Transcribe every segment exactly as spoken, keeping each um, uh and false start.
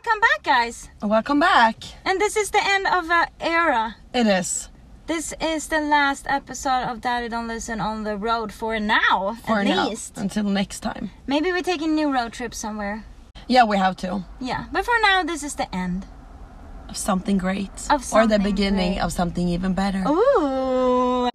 Welcome back, guys. Welcome back. And this is the end of an era. It is. This is the last episode of Daddy Don't Listen on the road for now, For at now. least. Until next time. Maybe we take a new road trip somewhere. Yeah, we have to. Yeah, but for now, this is the end. Of something great. Of or the something beginning great. of something even better. Ooh.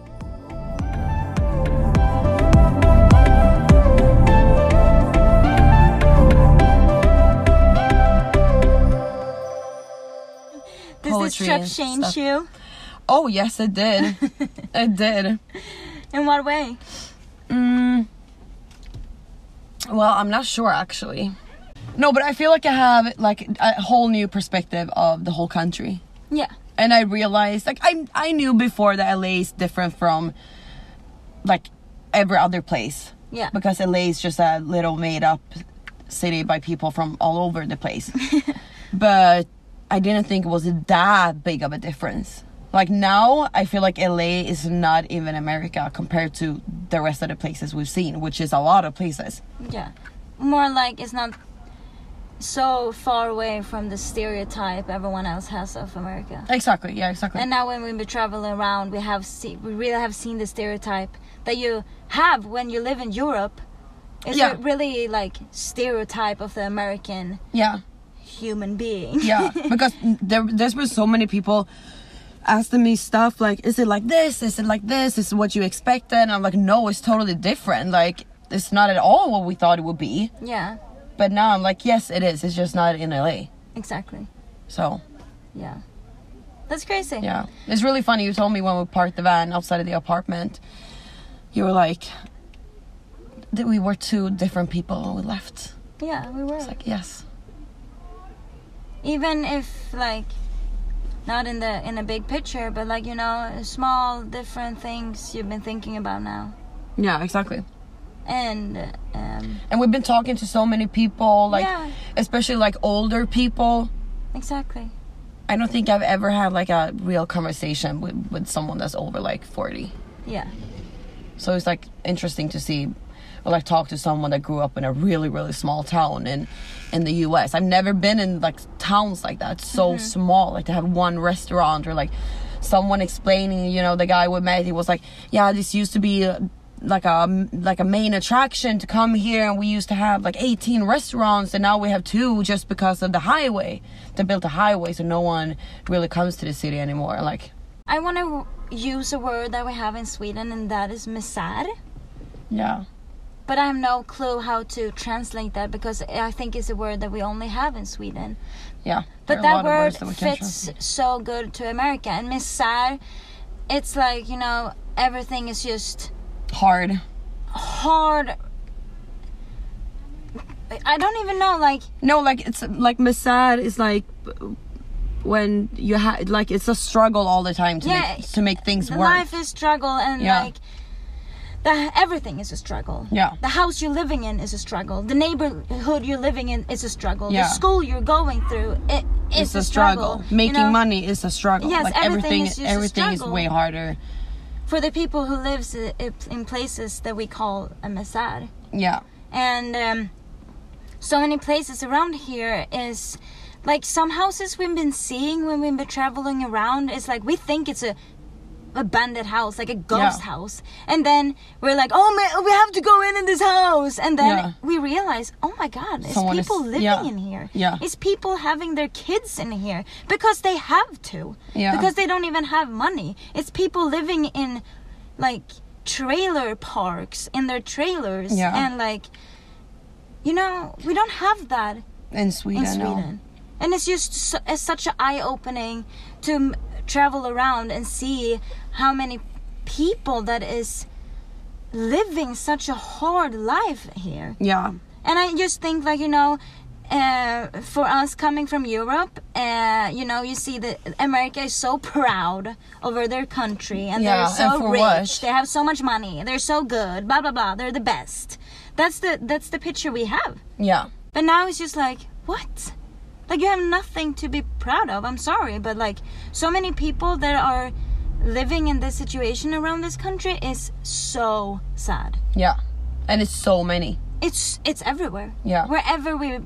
Does this Poetry trip and change stuff. you? Oh, yes, it did. It did. In what way? Mm. Well, I'm not sure, actually. No, but I feel like I have like a whole new perspective of the whole country. Yeah. And I realized, like, I I knew before that L A is different from, like, every other place. Yeah. Because L A is just a little made-up city by people from all over the place. But I didn't think it was that big of a difference. Like, now, I feel like L A is not even America compared to the rest of the places we've seen, which is a lot of places. Yeah. More like it's not so far away from the stereotype everyone else has of America. Exactly, yeah, exactly. And now when we travel around, we have see, we really have seen the stereotype that you have when you live in Europe. It's Yeah. a really like stereotype of the American yeah. human being. Yeah, because there, there's been so many people asking me stuff like, is it like this? Is it like this? Is it what you expected? And I'm like, no, it's totally different. Like, it's not at all what we thought it would be. Yeah, But now I'm like, yes, it is. It's just not in L A. exactly. So, Yeah. That's crazy. yeah. It's really funny. You told me when we parked the van outside of the apartment, you were like, that we were two different people when we left. Yeah, we were. It's like, yes. Even if like not in the in a big picture, but like, you know, small different things you've been thinking about now. Yeah, exactly. And um And we've been talking to so many people, like, Yeah. especially like older people. exactly. I don't think I've ever had like a real conversation with, with someone that's over like forty. Yeah. So it's like interesting to see, or like talk to someone that grew up in a really, really small town in, in the U S. I've never been in like towns like that, so small, like to have one restaurant or like someone explaining, you know, the guy we met, he was like, yeah, this used to be uh, like a like a main attraction to come here, and we used to have like eighteen restaurants, and now we have two just because of the highway. They built a highway, so no one really comes to the city anymore. Like, I want to use a word that we have in Sweden, and that is misär. yeah, But I have no clue how to translate that, because I think it's a word that we only have in Sweden. yeah. But There are a that lot of word words that we can't fits translate. so good to America. And misär, it's like, you know, everything is just Hard. hard. I don't even know, like, No, like it's like misär is like when you have like it's a struggle all the time to Yeah, make to make things the work. life is struggle, and Yeah. like the everything is a struggle. Yeah. The house you're living in is a struggle. The neighborhood you're living in is a struggle. Yeah. The school you're going through, it is It's a a struggle. struggle. You Making know, money is a struggle. Yes, like everything everything, is just a everything is struggle. way harder. for the people who lives i- in places that we call a misär. Yeah, And um, so many places around here is like some houses we've been seeing when we've been traveling around. It's like we think it's a abandoned house, like a ghost Yeah. house, and then we're like, oh man, we have to go in in this house, and then Yeah. we realize, oh my god, it's Someone is- people living yeah. in here. Yeah. It's people having their kids in here because they have to, Yeah. because they don't even have money. It's people living in like trailer parks in their trailers. Yeah. And like, you know, we don't have that in Sweden. in no. Sweden. And it's just su- it's such an eye-opening to m- travel around and see how many people that is living such a hard life here. Yeah, And I just think, like, you know, uh, for us coming from Europe, uh, you know, you see that America is so proud over their country, and Yeah, they're so and for rich. what? They have so much money. They're so good. Blah blah blah. They're the best. That's the that's the picture we have. yeah, But now it's just like, what? Like, you have nothing to be proud of. I'm sorry, but like, so many people that are living in this situation around this country is so sad. yeah. And it's so many. It's it's everywhere. Yeah. Wherever we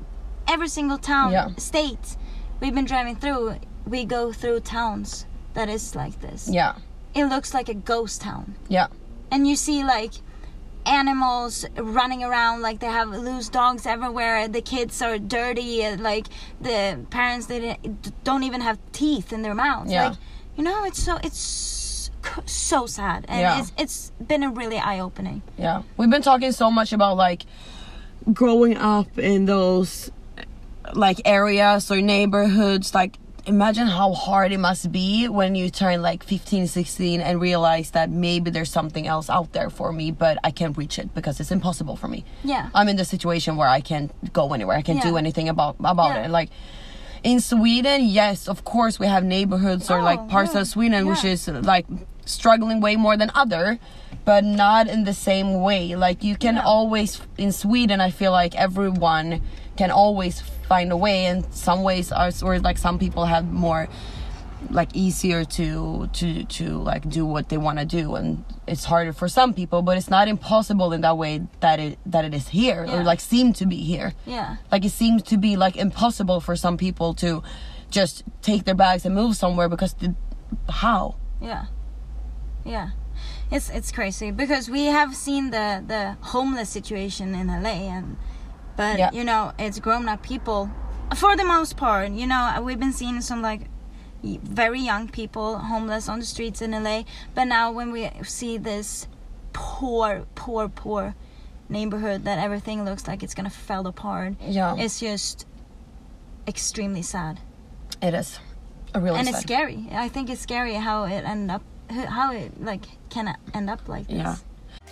every single town, Yeah. state we've been driving through, we go through towns that is like this. Yeah. It looks like a ghost town. Yeah. And you see like animals running around, like they have loose dogs everywhere. The kids are dirty, and like the parents, they didn't- don't even have teeth in their mouths. Yeah. Like, you know, it's so it's so sad, and Yeah. it's it's been a really eye-opening. Yeah. We've been talking so much about like growing up in those like areas or neighborhoods. Like, imagine how hard it must be when you turn like fifteen, sixteen and realize that maybe there's something else out there for me, but I can't reach it because it's impossible for me. Yeah. I'm in the situation where I can't go anywhere. I can't do Yeah. anything about about Yeah. it. Like in Sweden, yes, of course we have neighborhoods or Oh, like parts yeah. of Sweden which Yeah. is like struggling way more than other, but not in the same way. Like you can Yeah. always, in Sweden, I feel like everyone can always find a way, and some ways are, or like some people have more like easier to to to like do what they want to do, and it's harder for some people, but it's not impossible in that way that it that it is here, Yeah. or like seem to be here. Yeah. Like it seems to be like impossible for some people to just take their bags and move somewhere because the, how? Yeah. Yeah. It's it's crazy because we have seen the the homeless situation in L A, and but Yeah. you know, it's grown up people for the most part. You know, we've been seeing some like y- very young people homeless on the streets in L A, but now when we see this poor poor poor neighborhood that everything looks like it's gonna fall apart, Yeah, it's just extremely sad. it is. A really And sad. it's scary. I think it's scary how it ended up, how it like can end up like this. Yeah.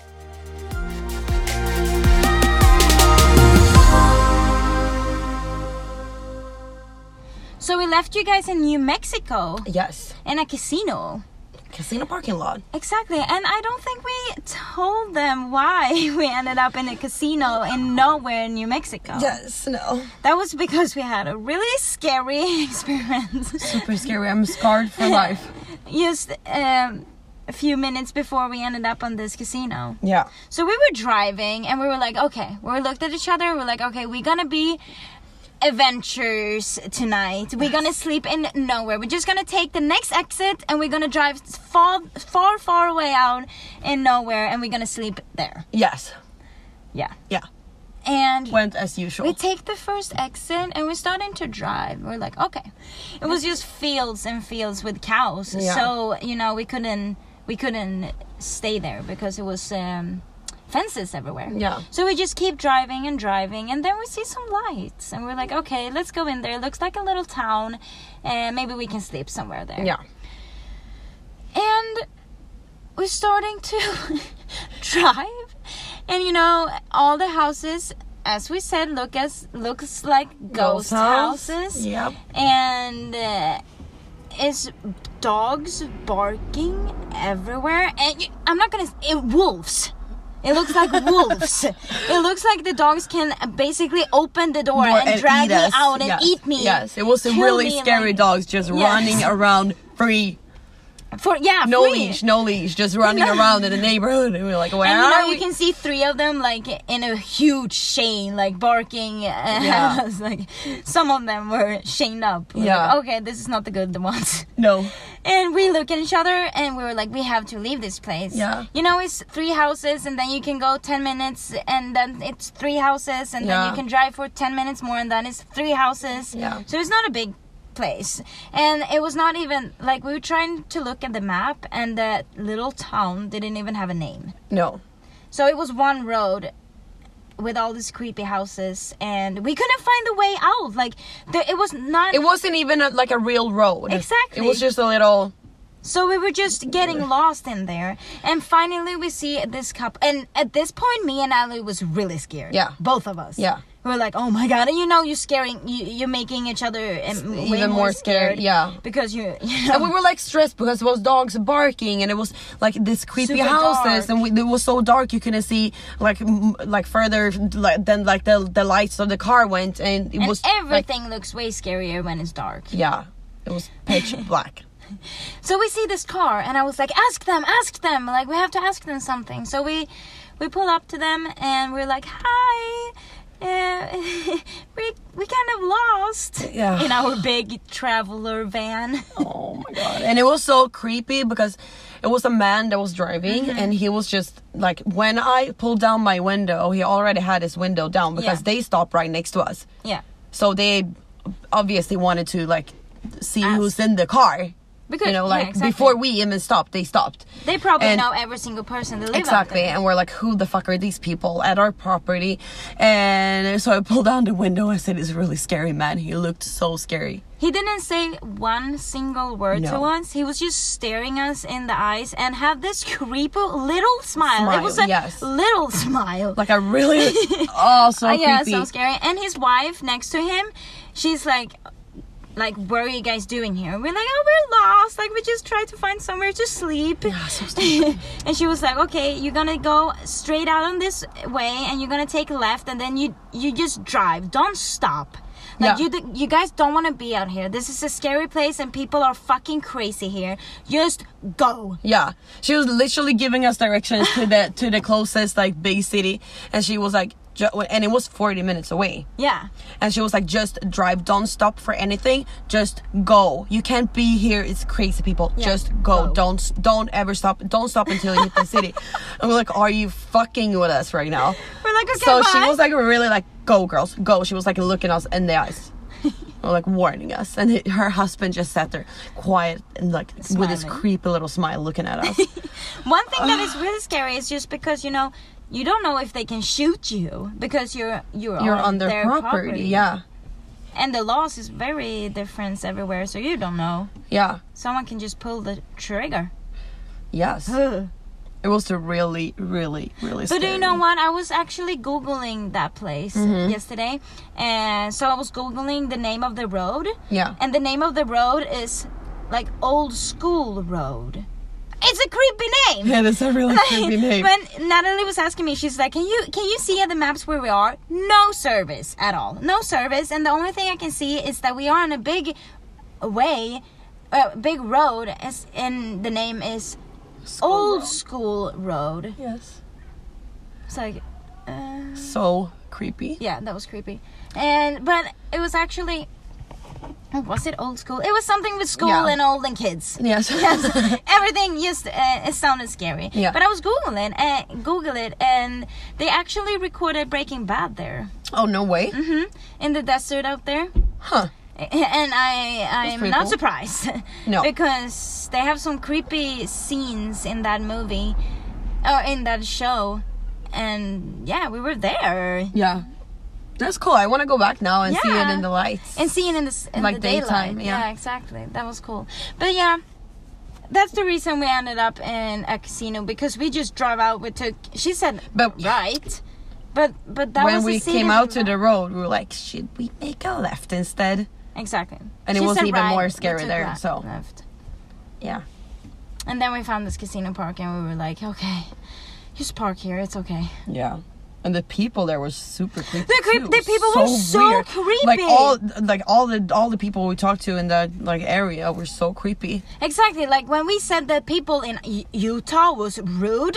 So we left you guys in New Mexico Yes. in a casino. Casino parking lot. Exactly. And I don't think we told them why we ended up in a casino in nowhere in New Mexico. Yes. No. That was because we had a really scary experience. Super scary. I'm scarred for life. Just um, a few minutes before we ended up on this casino. Yeah. So we were driving and we were like, okay, we looked at each other. We're like, okay, we're gonna be adventures tonight. We're gonna sleep in nowhere. We're just gonna take the next exit and we're gonna drive far, far, far away out in nowhere, and we're gonna sleep there. Yes. Yeah. Yeah. And Went as usual. we take the first exit and we're starting to drive. We're like, okay. It was just fields and fields with cows. Yeah. So, you know, we couldn't we couldn't stay there because it was um, fences everywhere. Yeah. So we just keep driving and driving, and then we see some lights and we're like, okay, let's go in there. It looks like a little town, and maybe we can sleep somewhere there. Yeah. And we're starting to drive, and you know, all the houses, as we said, look as looks like ghost, Ghost house. houses. Yep. And uh, it's dogs barking everywhere, and you, I'm not gonna it wolves. It looks like wolves. It looks like the dogs can basically open the door More- and, drag eat me us. out and Yes. eat me. Yes, it was a kill really me, scary like- dogs just Yes. running around free. For yeah, No free. leash, no leash, just running No. around in the neighborhood. And we were like, where And you are know, we? you can see three of them like in a huge chain, like barking. And Yeah. I was like, some of them were chained up. We're Yeah. like, okay, this is not the good ones. No. And we look at each other and we were like, we have to leave this place. Yeah. You know, it's three houses, and then you can go ten minutes, and then it's three houses, and then Yeah. you can drive for ten minutes more, and then it's three houses. Yeah. So it's not a big place. And it was not even like, we were trying to look at the map, and that little town didn't even have a name. No. So it was one road with all these creepy houses, and we couldn't find the way out. Like, there, it was not. It wasn't even a, like a real road. Exactly. It was just a little. So we were just getting lost in there, and finally we see this couple. And at this point, me and Ali was really scared. Yeah. Both of us. Yeah. We were like, oh my god! And you know, you're scaring. You, you're making each other um, way Even more scared, yeah. Because you. you know, And we were like stressed because it was dogs barking, and it was like this creepy Super houses, dark. and we, it was so dark you couldn't see like m- like further like than like the the lights of the car went, and it and was like, everything looks way scarier when it's dark. yeah, it was pitch black. So we see this car, and I was like, ask them, ask them. Like, we have to ask them something. So we we pull up to them, and we're like, hi. uh, we we kind of lost Yeah. in our big traveler van. Oh my god. And it was so creepy because it was a man that was driving Mm-hmm. and he was just like, when I pulled down my window, he already had his window down because Yeah. they stopped right next to us. Yeah. So they obviously wanted to like see Ask. who's in the car. Because You know, yeah, like exactly. before we even stopped, they stopped. They probably And- know every single person that live Exactly, out there. and we're like, who the fuck are these people at our property? And so I pulled down the window. I said, "It's really scary, man." He looked so scary. He didn't say one single word to No. us. He was just staring us in the eyes and had this creepy little smile. Smile, It was a yes. little smile. Like I really, oh, so Uh, yeah, creepy. so scary. And his wife next to him, she's like, like, what are you guys doing here? We're like, oh, we're lost. Like, we just tried to find somewhere to sleep. Yeah, so stupid. And she was like, okay, you're gonna go straight out on this way, and you're gonna take left, and then you you just drive. Don't stop. Like Yeah. you, d- you guys don't want to be out here. This is a scary place, and people are fucking crazy here. Just go. Yeah, she was literally giving us directions to the to the closest like big city, and she was like, ju- and it was forty minutes away. Yeah. And she was like, just drive, don't stop for anything, just go. You can't be here, it's crazy, people. Yeah, Just go. go. Don't don't ever stop. Don't stop until you hit the city. And we're like, are you fucking with us right now? We're like, okay, So bye. she was like really like, go girls, go. She was like looking us in the eyes. Or like warning us. And he- her husband just sat there quiet and like with his Smiling. creepy little smile looking at us. One thing that is really scary is just because, you know, you don't know if they can shoot you because you're you're, You're on, on their, their property. Yeah. And the laws is very different everywhere, so you don't know. Yeah. Someone can just pull the trigger. Yes. But It was a really, really, really scary. do you know what? I was actually Googling that place Mm-hmm. yesterday. And so I was Googling the name of the road. Yeah. And the name of the road is like Old School Road. It's a creepy name. Yeah, that's a really creepy name. When Natalie was asking me, she's like, "Can you can you see at the maps where we are? No service at all. No service, and the only thing I can see is that we are on a big way, a big road, as and the name is Old Road. School Road." Yes. It's like, uh, So creepy. yeah, that was creepy, and but it was actually. Was it old school? It was something with school Yeah. and old and kids. Yes. Yes, everything just uh, it sounded scary. Yeah. But I was googling and Google it, and they actually recorded Breaking Bad there, Oh, no way. hmm in the desert out there. Huh. And I I'm pretty not cool. surprised. No. Because they have some creepy scenes in that movie, or in that show, and yeah, we were there. Yeah. That's cool. I want to go back now and see it Yeah. in the lights. And seeing in the, s- in Like the daytime, daylight. yeah. exactly. That was cool. But yeah, that's the reason we ended up in a casino, because we just drove out. We took. She said But- right, but but that when was we the city came out we to the were- road, we were like, should we make a left instead? exactly. And it She was said even right, more we scary took there, right, so- left. Yeah. And then we found this casino park, and we were like, okay, just park here. It's okay. Yeah. And the people there were super creepy. The creep- too. the people were so creepy. Like all, like all the all the people we talked to in that like area were so creepy. Exactly. Like when we said that people in U- Utah was rude,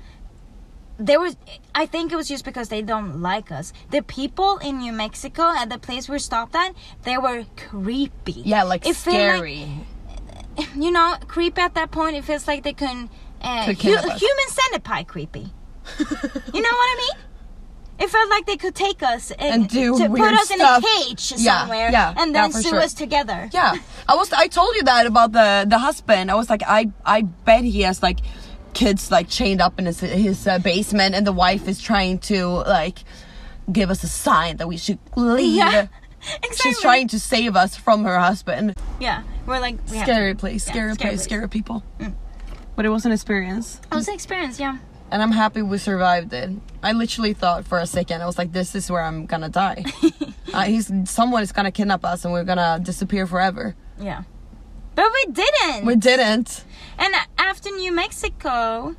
there was. I think it was just because they don't like us. The people in New Mexico at the place we stopped at, they were creepy. Yeah, like It felt like- scary. You know, creepy at that point. It feels like they can. Uh, Could hu- kidnap us. human centipede creepy. You know what I mean? It felt like they could take us and, And do to put weird us stuff. in a cage Yeah, somewhere, yeah, and yeah, then for sue sure. us together. Yeah, I was. I told you that about the the husband. I was like, I I bet he has like kids like chained up in his his uh, basement, and the wife is trying to like give us a sign that we should leave. Yeah, exactly. She's trying to save us from her husband. Yeah, we're like we have Scary to- place, yeah, scary, scary place, place. scary people. Mm. But it was an experience, It was an experience, yeah. and I'm happy we survived it. I literally thought for a second, I was like, "This is where I'm gonna die. uh, he's someone is gonna kidnap us, and we're gonna disappear forever." Yeah. But we didn't. We didn't. And after New Mexico,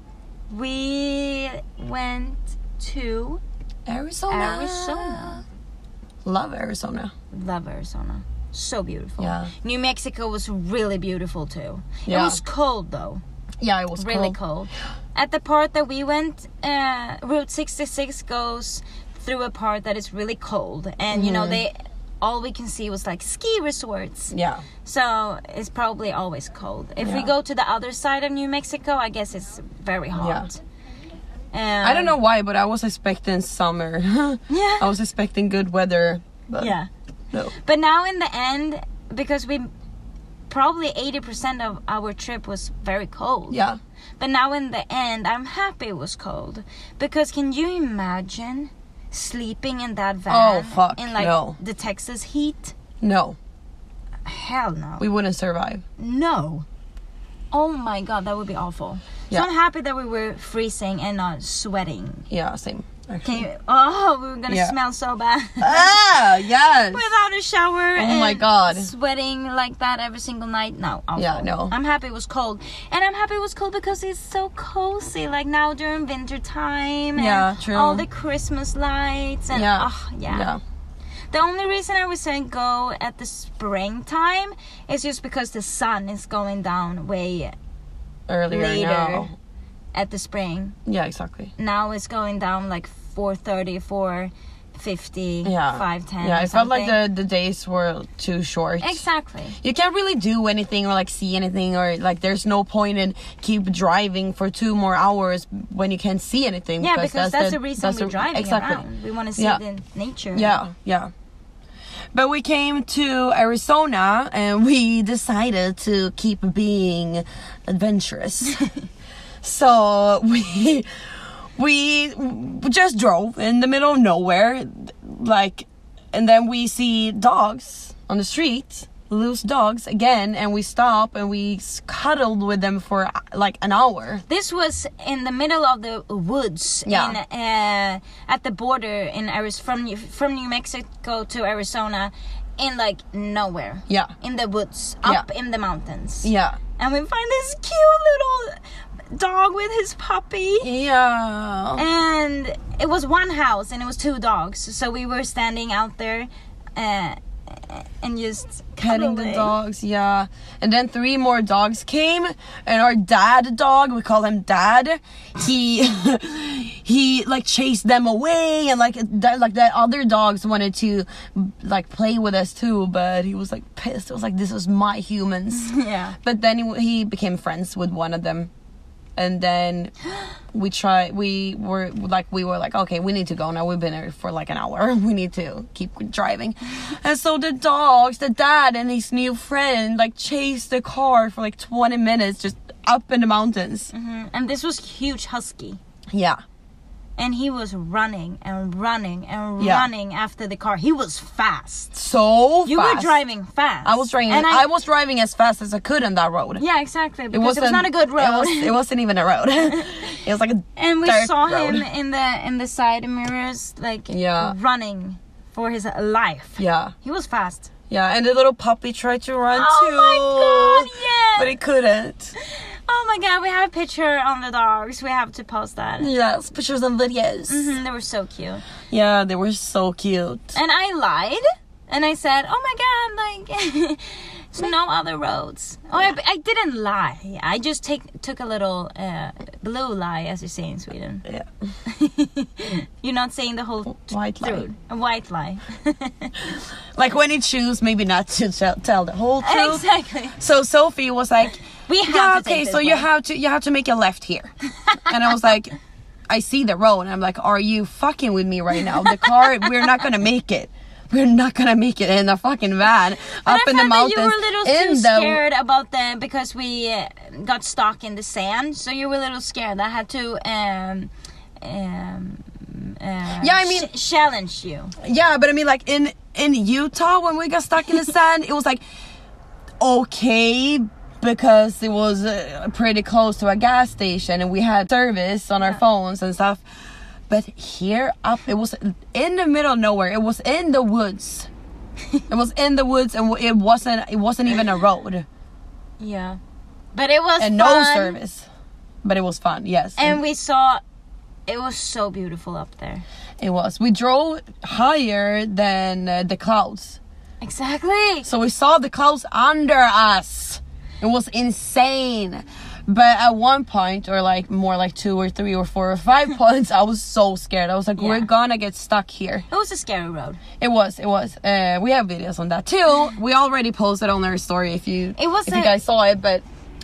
we went to Arizona. Arizona. Love Arizona. Love Arizona. So beautiful. Yeah. New Mexico was really beautiful too. It Yeah. was cold though. Yeah, it was Really cold. cold. At the part that we went, uh, Route sixty-six goes through a part that is really cold, and you know they all we can see was like ski resorts. Yeah. So it's probably always cold. If we Yeah. go to the other side of New Mexico, I guess it's very hot. Um, I don't know why, but I was expecting summer. Yeah. I was expecting good weather. But Yeah. no. But now in the end, because we probably eighty percent of our trip was very cold. Yeah. But now in the end, I'm happy it was cold. Because can you imagine sleeping in that van Oh, fuck, in like no. the Texas heat? No. Hell no. We wouldn't survive. No. Oh my god, that would be awful. Yeah. So I'm happy that we were freezing and not sweating. Yeah, same. Can Actually. you, oh, we were gonna Yeah. smell so bad. Ah, yes. Without a shower. Oh my and God. Sweating like that every single night. No. Awful. Yeah, no. I'm happy it was cold. And I'm happy it was cold because it's so cozy. Like now during winter time. Yeah, and true. all the Christmas lights. And, Yeah. oh, yeah. Yeah. The only reason I was saying go at the springtime is just because the sun is going down way Earlier later now. at the spring. Yeah, exactly. Now it's going down like four thirty, four fifty, Yeah. five ten. Yeah, it felt like the, the days were too short. Exactly. You can't really do anything or like see anything, or like there's no point in keep driving for two more hours when you can't see anything. Yeah, because that's, the, the reason that's we're the- driving exactly. around. We want to see Yeah. the nature. Yeah, yeah. But we came to Arizona and we decided to keep being adventurous. So we we just drove in the middle of nowhere, like, and then we see dogs on the street, loose dogs again, and we stop and we cuddled with them for like an hour. This was in the middle of the woods. Yeah. In, uh, at the border in Arizona, from New- from New Mexico to Arizona, in like nowhere. Yeah. In the woods, up Yeah. in the mountains. Yeah. And we find this cute little dog with his puppy. Yeah. And it was one house and it was two dogs. So we were standing out there uh, and just Petting the cuddling. dogs, yeah. And then three more dogs came, and our dad dog, we call him Dad, he he like chased them away, and like that, like the other dogs wanted to like play with us too, but he was like pissed. It was like, this was my humans. Yeah. But then he, he became friends with one of them. And then we try we were like we were like okay, we need to go now. We've been here for like an hour. We need to keep driving. And so the dogs, the dad and his new friend like chased the car for like twenty minutes just up in the mountains. Mhm. And this was huge husky. Yeah. And he was running and running and Yeah. running after the car. He was fast. So You fast. were driving fast. I was driving And I, was driving as fast as I could on that road. Yeah, exactly. Because it, was not a good road. It, was, it wasn't even a road. It was like a and we dirt saw road. him in the in the side mirrors, like Yeah. running for his life. Yeah. He was fast. Yeah, and the little puppy tried to run Oh too. my god, yeah. But he couldn't. Oh my god, we have a picture on the dogs. We have to post that. Yes, pictures and videos. Mhm, they were so cute. Yeah, they were so cute. And I lied. And I said, oh my god, like, there's no other roads. Oh, I, I didn't lie. I just take, took a little uh, blue lie, as you say in Sweden. Yeah. You're not saying the whole White lie. truth. A white lie. Like when you choose maybe not to tell, tell the whole truth. Exactly. So Sophie was like, We have yeah, to okay, take this so you way." have to you have to make a left here. And I was like, I see the road, and I'm like, are you fucking with me right now? The car, we're not gonna make it. We're not gonna make it in a fucking van But up I in the found that mountains. you were a little in too the scared about the because we uh, got stuck in the sand, so you were a little scared. I had to um, um, uh, Yeah, I mean- ch- challenge you. Yeah, but I mean, like in in Utah when we got stuck in the sand, it was like okay because it was uh, pretty close to a gas station and we had service on our Yeah. phones and stuff. But here up, it was in the middle of nowhere. It was in the woods. It was in the woods, and it wasn't. It wasn't even a road, Yeah, but it was and fun. no service. But it was fun, yes. And we saw it was so beautiful up there. It was. We drove higher than uh, the clouds, Exactly. so we saw the clouds under us. It was insane. But at one point, or like more like two or three or four or five points, I was so scared. I was like, Yeah. we're gonna get stuck here. It was a scary road. It was, it was. Uh, we have videos on that too. We already posted on our story if you It was if a- you guys saw it. But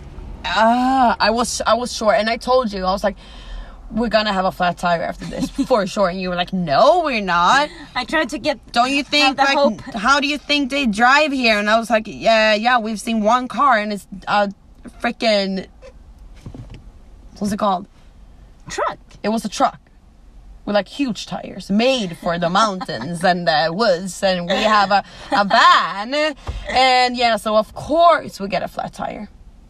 ah, I was I was sure, and I told you I was like, we're gonna have a flat tire after this for sure. And you were like, no, we're not. I tried to get. Don't you think, the like, hope. how do you think they drive here? And I was like, yeah, yeah, we've seen one car and it's a freaking, what's it called? Truck. It was a truck with like huge tires made for the mountains and the woods. And we have a, a van. And yeah, so of course we get a flat tire.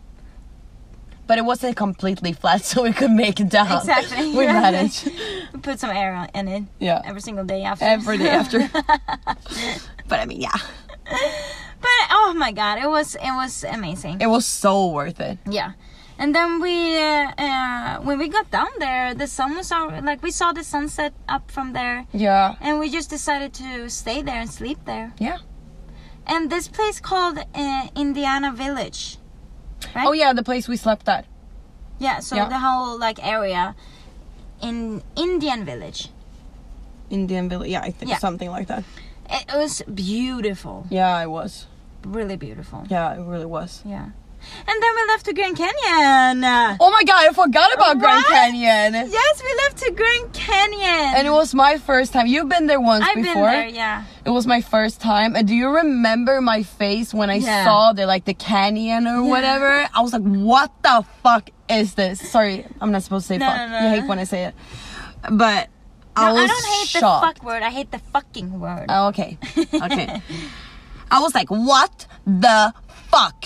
But it wasn't completely flat, so we could make it down. Exactly. We managed. We put some air in it. Yeah. Every single day after. Every day after. But I mean, yeah. But oh my god, it was it was amazing. It was so worth it. Yeah. And then we, uh, uh, when we got down there, the sun was out, like we saw the sunset up from there. Yeah. And we just decided to stay there and sleep there. Yeah. And this place called uh, Indiana Village. Right? Oh yeah, the place we slept at. Yeah, so Yeah. the whole like area in Indian Village. Indian Village. Yeah, I think Yeah. something like that. It was beautiful. Yeah, it was. Really beautiful. Yeah, it really was. Yeah. And then we left to Grand Canyon. Oh my god, I forgot about Grand What? Canyon. Yes, we left to Grand Canyon. And it was my first time. You've been there once I've before. been there, yeah. It was my first time. And do you remember my face when I Yeah. saw the like the canyon or whatever? I was like, what the fuck is this? Sorry, I'm not supposed to say No, fuck. no, no, You hate no. when I say it. But No, I was I don't hate shocked. the fuck word. I hate the fucking word. Oh, okay. Okay. I was like, what the fuck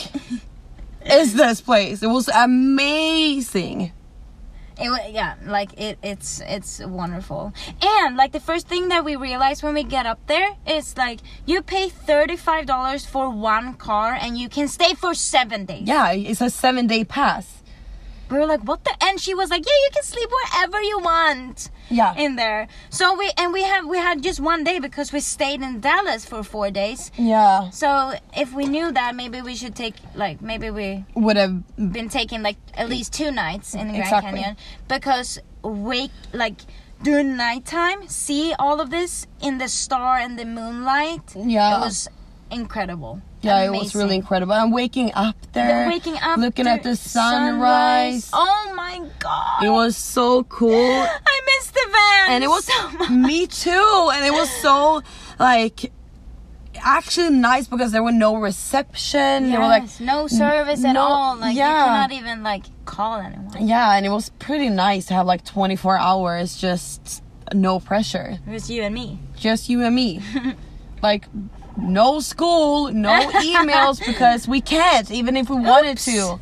is this place? It was amazing. It, wa- yeah, like it, it's it's wonderful. And like the first thing that we realized when we get up there is like you pay thirty-five dollars for one car and you can stay for seven days. Yeah, it's a seven day pass. We were like, what the? And she was like, yeah, you can sleep wherever you want. Yeah. In there. So we and we have we had just one day because we stayed in Dallas for four days. Yeah. So if we knew that, maybe we should take like maybe we Would have. been taking like at least two nights in the Grand Exactly. Canyon because wake like during nighttime see all of this in the star and the moonlight. Yeah. It was incredible. Yeah, it was Amazing. really incredible. I'm waking up there. The waking up, looking at the sunrise. Oh my god! It was so cool. I missed the van, And it was so much. me too. And it was so like actually nice because there were no reception. They were like Yes, no service at no- all. Like yeah. you cannot even like call anyone. yeah, and it was pretty nice to have like twenty-four hours just no pressure. It was you and me. Just you and me. Like no school, no emails because we can't even if we wanted Oops. to.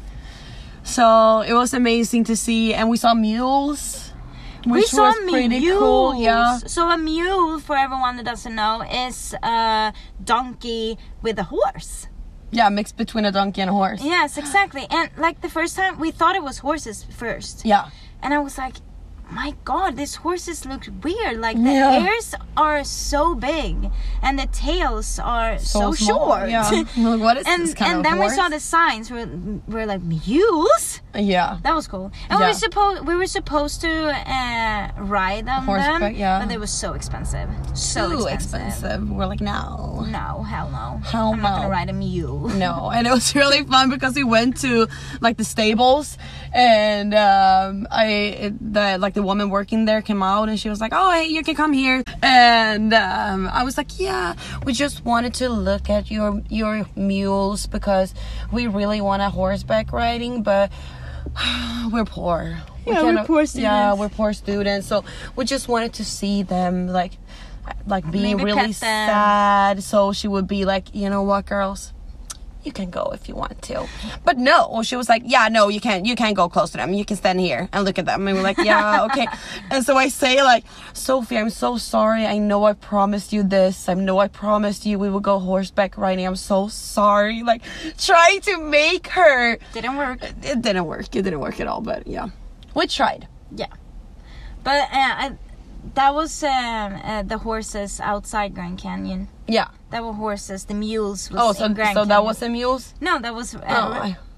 So it was amazing to see, and we saw mules, which we saw was pretty mules. cool. Yeah, So a mule, for everyone that doesn't know, is a donkey with a horse. yeah, mixed between a donkey and a horse. Yes, exactly. And like the first time, we thought it was horses first. Yeah, And I was like, my god, these horses look weird. Like the Yeah. ears are so big and the tails are so, small. short. Yeah, We're like, what is and this kind and of then horse? we saw the signs. We're, we're like, mules? Yeah, That was cool. And we Yeah. were supposed we were supposed to uh, ride on Horseback, them, yeah. but they were so expensive. So too expensive. expensive. We're like, no, No, hell no. Hell I'm not gonna no. ride a mule. no. And it was really fun because we went to like the stables, and um, I it, the like the woman working there came out, and she was like, oh, hey, you can come here. And um, I was like, yeah, we just wanted to look at your your mules because we really want a horseback riding, but we're poor. We Yeah, we're cannot- poor Yeah, students. we're poor students. So we just wanted to see them like like being Maybe really pet them. sad. So she would be like, you know what, girls? You can go if you want to. But no, she was like, yeah, no, you can't. You can't go close to them. You can stand here and look at them. And we're like, yeah, okay. And so I say like, Sophie, I'm so sorry. I know I promised you this. I know I promised you we would go horseback riding. I'm so sorry. Like trying to make her. Didn't work. It didn't work. It didn't work at all. But yeah, we tried. Yeah. But uh, I, that was um, uh, the horses outside Grand Canyon. Yeah. That were horses. The mules was Oh, so in Grand so Canyon. that was the mules. No, that was uh, Oh, I-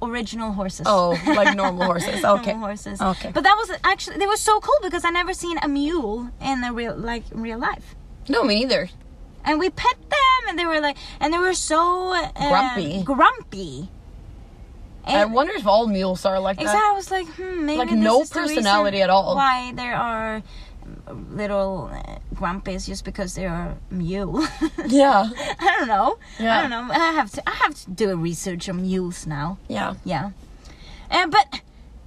original horses. Oh, like normal horses. Okay. Normal horses. Okay. But that was actually, they were so cool because I never seen a mule in the real, like in real life. No, me neither. And we pet them, and they were like, and they were so uh, Grumpy. Grumpy. And I wonder if all mules are like exactly, that. I was like, hmm, maybe Like, this no is the personality reason at all. Why there are little uh, grumpies just because they are mule. Yeah. I don't know. Yeah. I don't know. I have to. I have to do a research on mules now. Yeah. Yeah. And but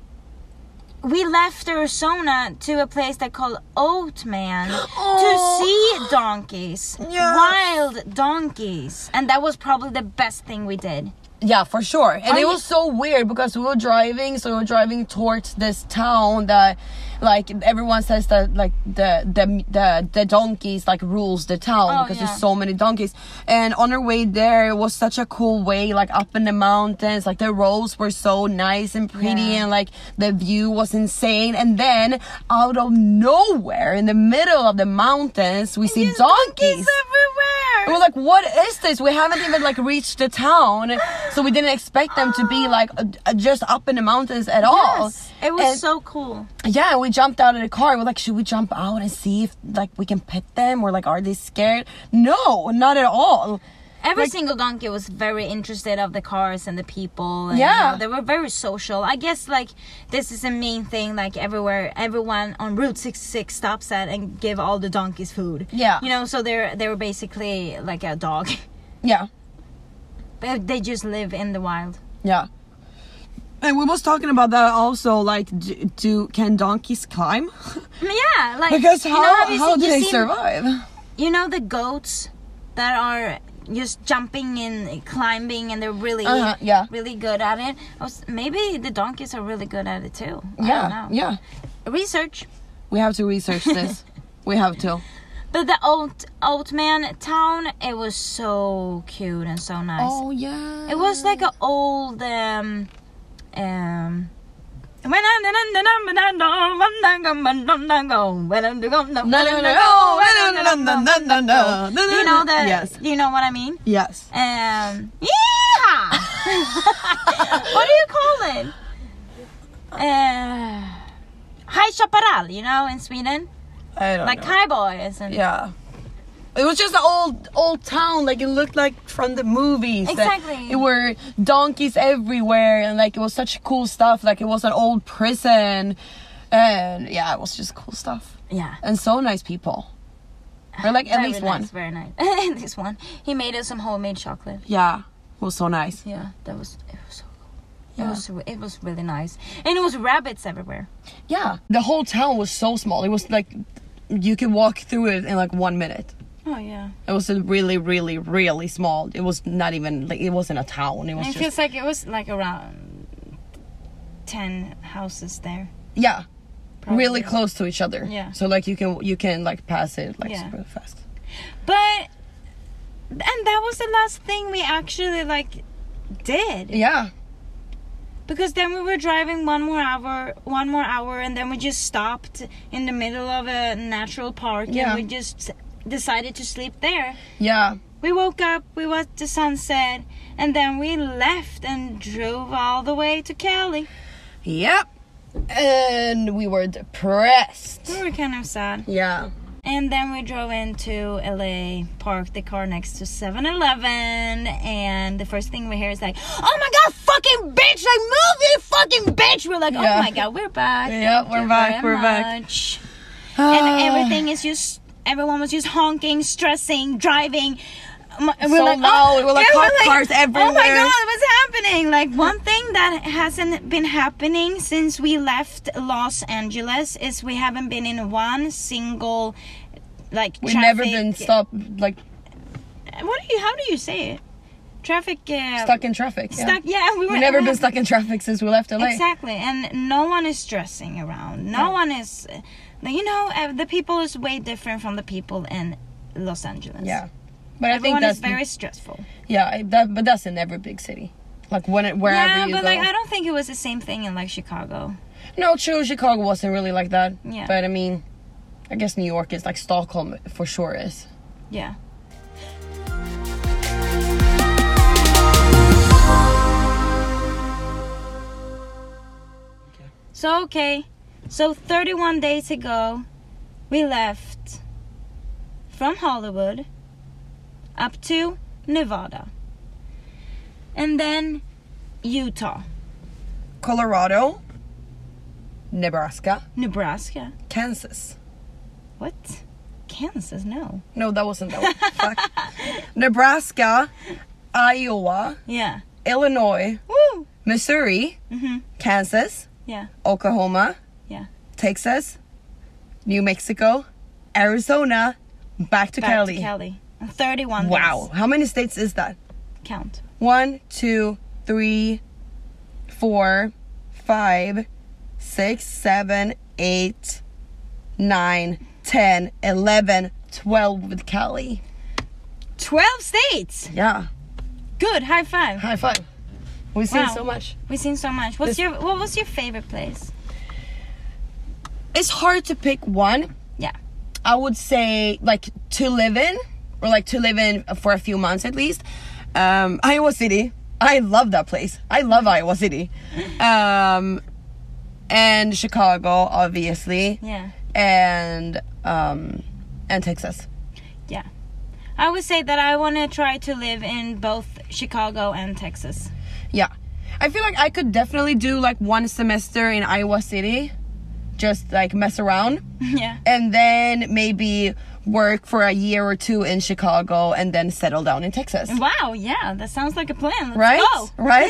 we left Arizona to a place that called Oatman Oh. to see donkeys, Yes. wild donkeys, and that was probably the best thing we did. Yeah, for sure. And Are it you- was so weird because we were driving, so we were driving towards this town that, like, everyone says that, like, the the the, the donkeys, like, rules the town Oh, because yeah. there's so many donkeys. And on our way there, it was such a cool way, like, up in the mountains. Like, the roads were so nice and pretty, Yeah. and, like, the view was insane. And then, out of nowhere, in the middle of the mountains, we see There's donkeys. everywhere. And we're like, what is this? We haven't even like reached the town, so we didn't expect them to be like uh, uh, just up in the mountains at all. Yes, it was And- so cool. Yeah, we jumped out of the car. We're like, should we jump out and see if like we can pet them, or like are they scared? No, not at all. Every Like- single donkey was very interested of the cars and the people. And, Yeah. you know, they were very social. I guess like this is a main thing. Like everywhere, everyone on Route sixty-six stops at and give all the donkeys food. Yeah. You know, so they're they were basically like a dog. Yeah, They they just live in the wild. yeah. And we was talking about that also. Like, do, do can donkeys climb? Yeah, like Because you how know, have you how seen- do you they seen- survive? You know the goats that are just jumping and climbing, and they're really Uh-huh, yeah. really good at it. I was, maybe the donkeys are really good at it too. I don't Yeah, know. yeah. Research. We have to research this. We have to. But the old Oatman town, it was so cute and so nice. Oh yeah. It was like an old um um Do you know the Yes. do you know what I mean? Yes. Um yeehaw! What do you call it? Uh High Chaparral, you know, in Sweden? I don't Like know. cowboys and Yeah. It was just an old old town, like it looked like from the movies. Exactly. It were donkeys everywhere, and like it was such cool stuff. Like it was an old prison, and yeah, it was just cool stuff. yeah. And so nice people. Or like at Very least nice, one. Very nice. At least one. He made us some homemade chocolate. Yeah, it was so nice. Yeah, that was it was so cool. Yeah. It was it was really nice. And it was rabbits everywhere. Yeah, the whole town was so small. It was like you could walk through it in like one minute. Oh yeah. It was a really, really, really small. It was not even like it wasn't a town. It was It just feels like it was like around ten houses there. yeah, Probably. really close to each other. Yeah. So like you can you can like pass it like Yeah. super fast. But and that was the last thing we actually like did. Yeah. Because then we were driving one more hour, one more hour, and then we just stopped in the middle of a natural park, Yeah. and we just decided to sleep there. Yeah. We woke up, we watched the sunset, and then we left and drove all the way to Cali. Yep. And we were depressed. We were kind of sad. Yeah. And then we drove into L A, parked the car next to seven eleven, and the first thing we hear is like, oh my god, fucking bitch, like move, you fucking bitch. We're like, oh Yeah. my god, we're back. Yeah, Thank we're you back, very we're back. much." And everything is just, everyone was just honking, stressing, driving. Um, and So loud. We're like, yeah, cop cars Oh my everywhere. god, what's happening? Like, one thing that hasn't been happening since we left Los Angeles is we haven't been in one single, like, We've traffic. never been stopped like What do you, how do you say it? Traffic. Uh, stuck in traffic. Yeah. Stuck, yeah. We were, We've never we been have- stuck in traffic since we left L A. Exactly, and no one is stressing around. No Yeah. one is, uh, you know, uh, the people is way different from the people in Los Angeles. Yeah. But I Everyone think that's is very stressful. yeah, I- that, but that's in every big city. Like when it, wherever Yeah, you but go. like I don't think it was the same thing in like Chicago. No, true. Chicago wasn't really like that. Yeah. But I mean, I guess New York is like Stockholm for sure is. Yeah. So, okay. So, thirty-one days ago, we left from Hollywood up to Nevada. And then Utah. Colorado. Nebraska. Nebraska. Kansas. What? Kansas? No. No, that wasn't that one. Fuck. Nebraska. Iowa. Yeah. Illinois. Woo! Missouri. Mm-hmm. Kansas. Yeah. Oklahoma. Yeah. Texas. New Mexico. Arizona. Back to Back Cali. to Cali. thirty-one Wow. days. How many states is that? Count. One, two, three, four, five, six, seven, eight, nine, ten, eleven, twelve with Cali. twelve states! Yeah. Good. High five. High five. We've seen Wow. so much. We've seen so much. What's This- your What was your favorite place? It's hard to pick one. Yeah. I would say like to live in, or like to live in for a few months at least. Um, Iowa City. I love that place. I love Iowa City. Um, and Chicago, obviously. Yeah. And um, and Texas. Yeah. I would say that I want to try to live in both Chicago and Texas. Yeah. I feel like I could definitely do like one semester in Iowa City. Just like mess around. Yeah. And then maybe work for a year or two in Chicago and then settle down in Texas. Wow, yeah, that sounds like a plan. Let's Right? go. Right?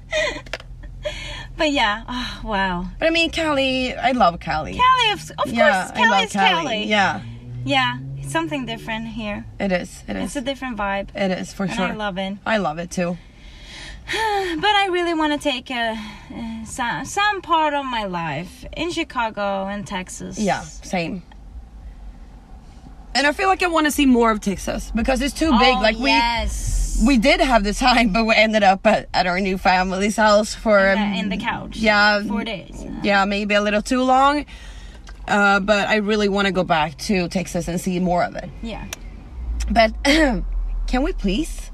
But yeah, oh, wow. But I mean, Cali, I love Cali. Cali, of, of yeah, course, I Cali love is Cali. Cali. Yeah, Yeah, it's something different here. it is. It It's is. a different vibe. It is for And sure. I love it. I love it too. But I really want to take a, uh, some, some part of my life in Chicago and Texas. Yeah, same. And I feel like I want to see more of Texas because it's too big. Oh, Like we yes. we did have the time, but we ended up at, at our new family's house for in, um, the, in the couch. Yeah, Four days. yeah, maybe a little too long. Uh, but I really want to go back to Texas and see more of it. Yeah. But can we please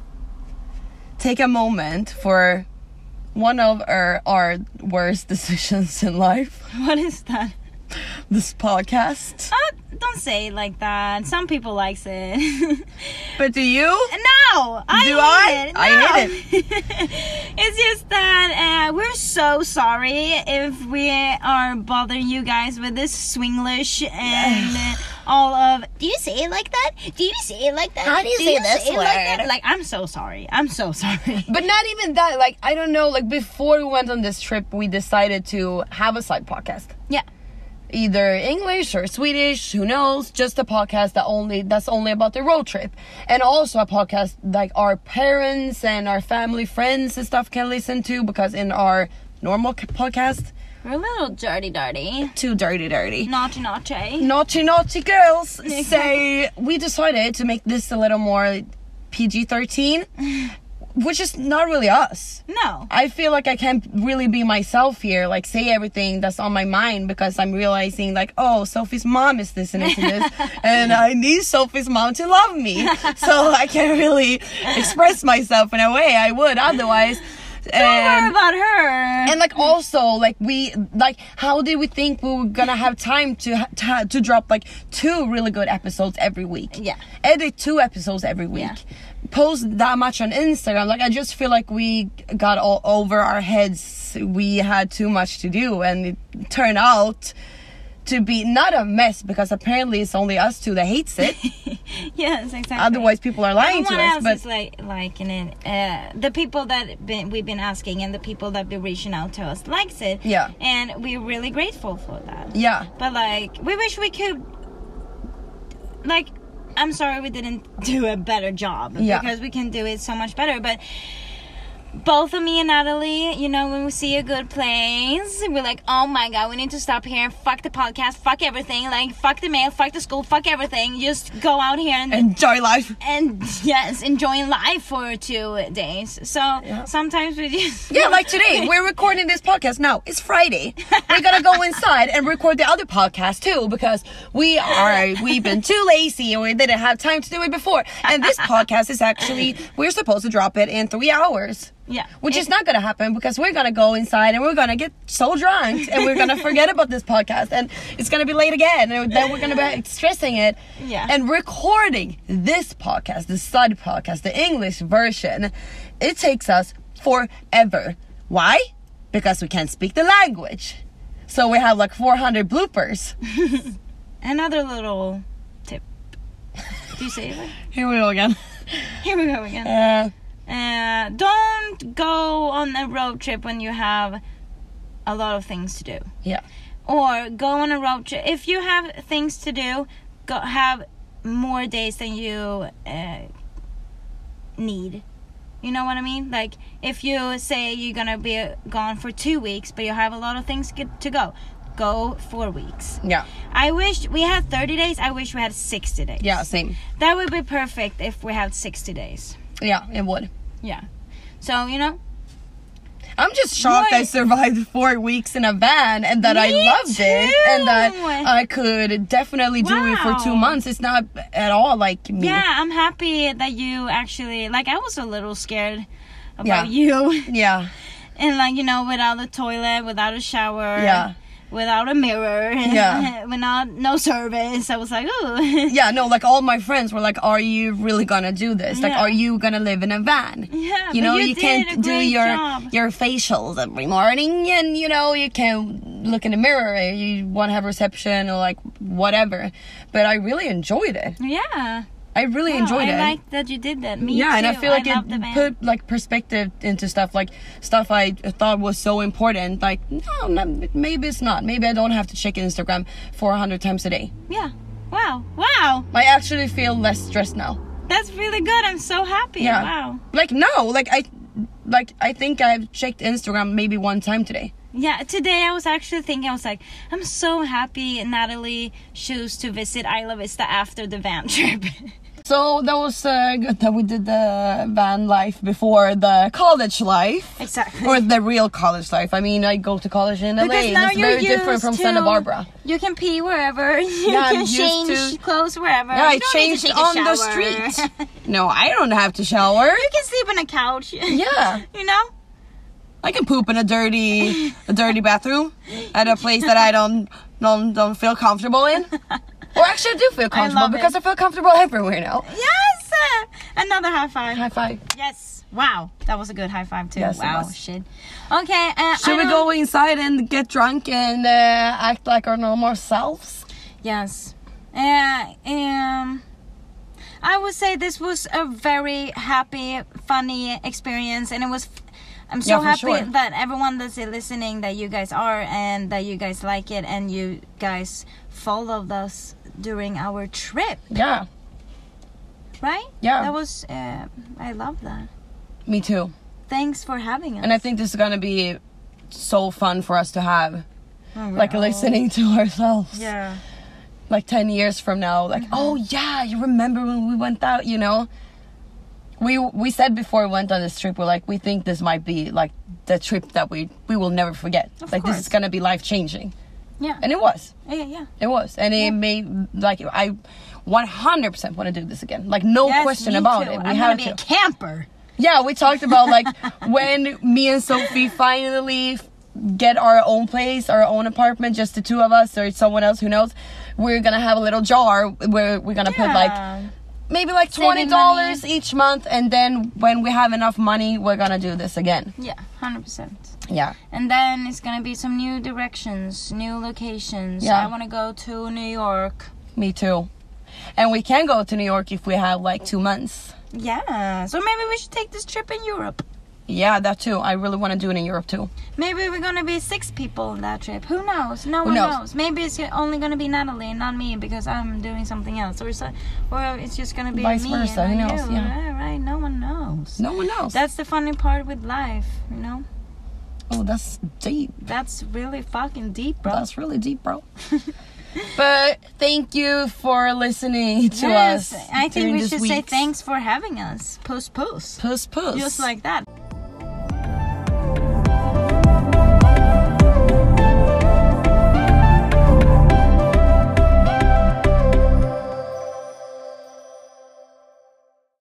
take a moment for one of our, our worst decisions in life? What is that? This podcast. Oh, don't say it like that. Some people likes it. But do you? No, I Do hate I? it. I No. hate It's just that uh, we're so sorry if we are bothering you guys with this Swinglish and uh, all of. Do you say it like that? Do you say it like that? How do you say this it Like, word? that? Like, I'm so sorry. I'm so sorry. But not even that. Like, I don't know. Like, before we went on this trip, we decided to have a side podcast. Yeah. Either English or Swedish, who knows? Just a podcast that only that's only about the road trip, and also a podcast like our parents and our family, friends, and stuff can listen to, because in our normal c- podcast, We're a little dirty, dirty. too dirty, dirty, Naughty, naughty. naughty, naughty girls. Say we decided to make this a little more P G thirteen, which is not really us. No. I feel like I can't really be myself here, like say everything that's on my mind, because I'm realizing like, oh, Sophie's mom is listening to this and I need Sophie's mom to love me. So I can't really express myself in a way I would otherwise. Don't worry And, about her. and like also like we like how did we think we were gonna have time to ha- to, to drop like two really good episodes every week? Yeah. Edit two episodes every week. Yeah. Post that much on Instagram. Like I just feel like we got all over our heads. We had too much to do, and it turned out to be not a mess, because apparently it's only us two that hates it. Yes, exactly. Otherwise people are lying to Everyone us. else But is like liking it. Uh, the people that been, we've been asking and the people that been reaching out to us likes it. Yeah. And we're really grateful for that. yeah, But like, we wish we could. Like, I'm sorry we didn't do a better job, Yeah. because we can do it so much better. But both of me and Natalie, you know, when we see a good place, we're like, oh my god, we need to stop here. Fuck the podcast, fuck everything. Like, fuck the mail, fuck the school, fuck everything. Just go out here and enjoy life. and yes, enjoying life for two days. So Yeah. sometimes we just Yeah, like today, we're recording this podcast now. It's Friday. We're gonna go inside and record the other podcast too, because we are, we've been too lazy and we didn't have time to do it before. And this podcast is actually, we're supposed to drop it in three hours. Yeah. Which It- is not gonna happen because we're gonna go inside and we're gonna get so drunk and we're gonna forget about this podcast and it's gonna be late again and then we're gonna be stressing it. Yeah. And recording this podcast, the study podcast, the English version, it takes us forever. Why? Because we can't speak the language. So we have like four hundred bloopers. Another little tip. Do you say it? Here we go again. Here we go again. Uh, Uh, don't go on a road trip when you have a lot of things to do. yeah. Or go on a road trip. If you have things to do, go have more days than you uh, need. You know what I mean? Like, if you say you're gonna be gone for two weeks, but you have a lot of things get to go, go four weeks. Yeah. I wish we had thirty days. I wish we had sixty days. Yeah, same. That would be perfect if we had sixty days. Yeah, it would. Yeah. So, you know, I'm just shocked Right. I survived four weeks in a van and that I Me loved it and that too. I could definitely do it for two Wow. months. It's not at all like me. yeah, I'm happy that you actually, like, I was a little scared about Yeah. you. Yeah. And, like, you know, without a toilet, without a shower. Yeah. Without a mirror. Yeah. Without no service. I was like, ooh. Yeah, no, like all my friends were like, are you really gonna do this? Like, Yeah. are you gonna live in a van? Yeah, You but know, you you, did can't a do great your job. your facials every morning and, you know, you can't look in the mirror. You want to have reception or like whatever. But I really enjoyed it. Yeah. I really Wow, enjoyed I it. like that you did that. Me yeah, too. and I feel like love the it van. put like perspective into stuff, like stuff I thought was so important. Like, no, no, maybe it's not. Maybe I don't have to check Instagram four hundred times a day. Yeah. Wow. Wow. I actually feel less stressed now. That's really good. I'm so happy. Yeah. Wow. Like no, like I, like I think I've checked Instagram maybe one time today. Yeah, today I was actually thinking, I was like, I'm so happy Natalie chose to visit Isla Vista after the van trip. So that was uh, good that we did the van life before the college life. Exactly. Or the real college life. I mean, I go to college in L A Because and now it's you're very different used from to- Santa Barbara. You can pee wherever. You Yeah, I'm can used change to- clothes wherever. Yeah, I You don't need to changed take a on the shower. street. No, I don't have to shower. You can sleep on a couch. Yeah. You know? I can poop in a dirty, a dirty bathroom at a place that I don't, don't, don't feel comfortable in. Or actually, I do feel comfortable love because it. I feel comfortable everywhere now. Yes! Another high five. High five. Yes. Wow. That was a good high five too. Yes, it wow. was. Shit. Okay. Uh, Should I we don't- go inside and get drunk and uh, act like our normal selves? Yes. Uh, um, I would say this was a very happy, funny experience, and it was. I'm so Yeah, for happy sure. that everyone that's listening, that you guys are, and that you guys like it, and you guys followed us during our trip, Yeah, right? Yeah. That was. Uh, I love that. me too. Thanks for having us. And I think this is gonna be so fun for us to have, Oh, like wow. listening to ourselves. Yeah. Like ten years from now, like, Mm-hmm. oh yeah, you remember when we went out, you know? We we said before we went on this trip, we're like, we think this might be like the trip that we we will never forget. Of like course. this is gonna be life changing. Yeah. And it was. Yeah. Yeah. It was. And it made like I one hundred percent want to do this again. Like no Yes, question me about too. it. We I'm have gonna be to. a camper. Yeah, we talked about like when me and Sophie finally f- get our own place, our own apartment, just the two of us or someone else, who knows. We're gonna have a little jar where we're gonna put like Yeah. maybe like Saving twenty dollars each month, and then when we have enough money, we're gonna do this again. Yeah. Hundred percent. Yeah. And then it's gonna be some new directions, new locations. Yeah. I wanna go to New York. Me too. And we can go to New York if we have like two months. Yeah. So maybe we should take this trip in Europe. Yeah, that too. I really want to do it in Europe too. Maybe we're gonna be six people on that trip. Who knows? No Who one knows? knows. Maybe it's only gonna be Natalie and not me because I'm doing something else, or so, or it's just gonna be Vice me versa, and who not knows? you. Yeah. Right? No one knows. No one knows. That's the funny part with life, you know. oh, that's deep. That's really fucking deep, bro. That's really deep, bro. But thank you for listening to yes, us. I think during we this should say week's- thanks for having us. Post post. Puss puss. Just like that.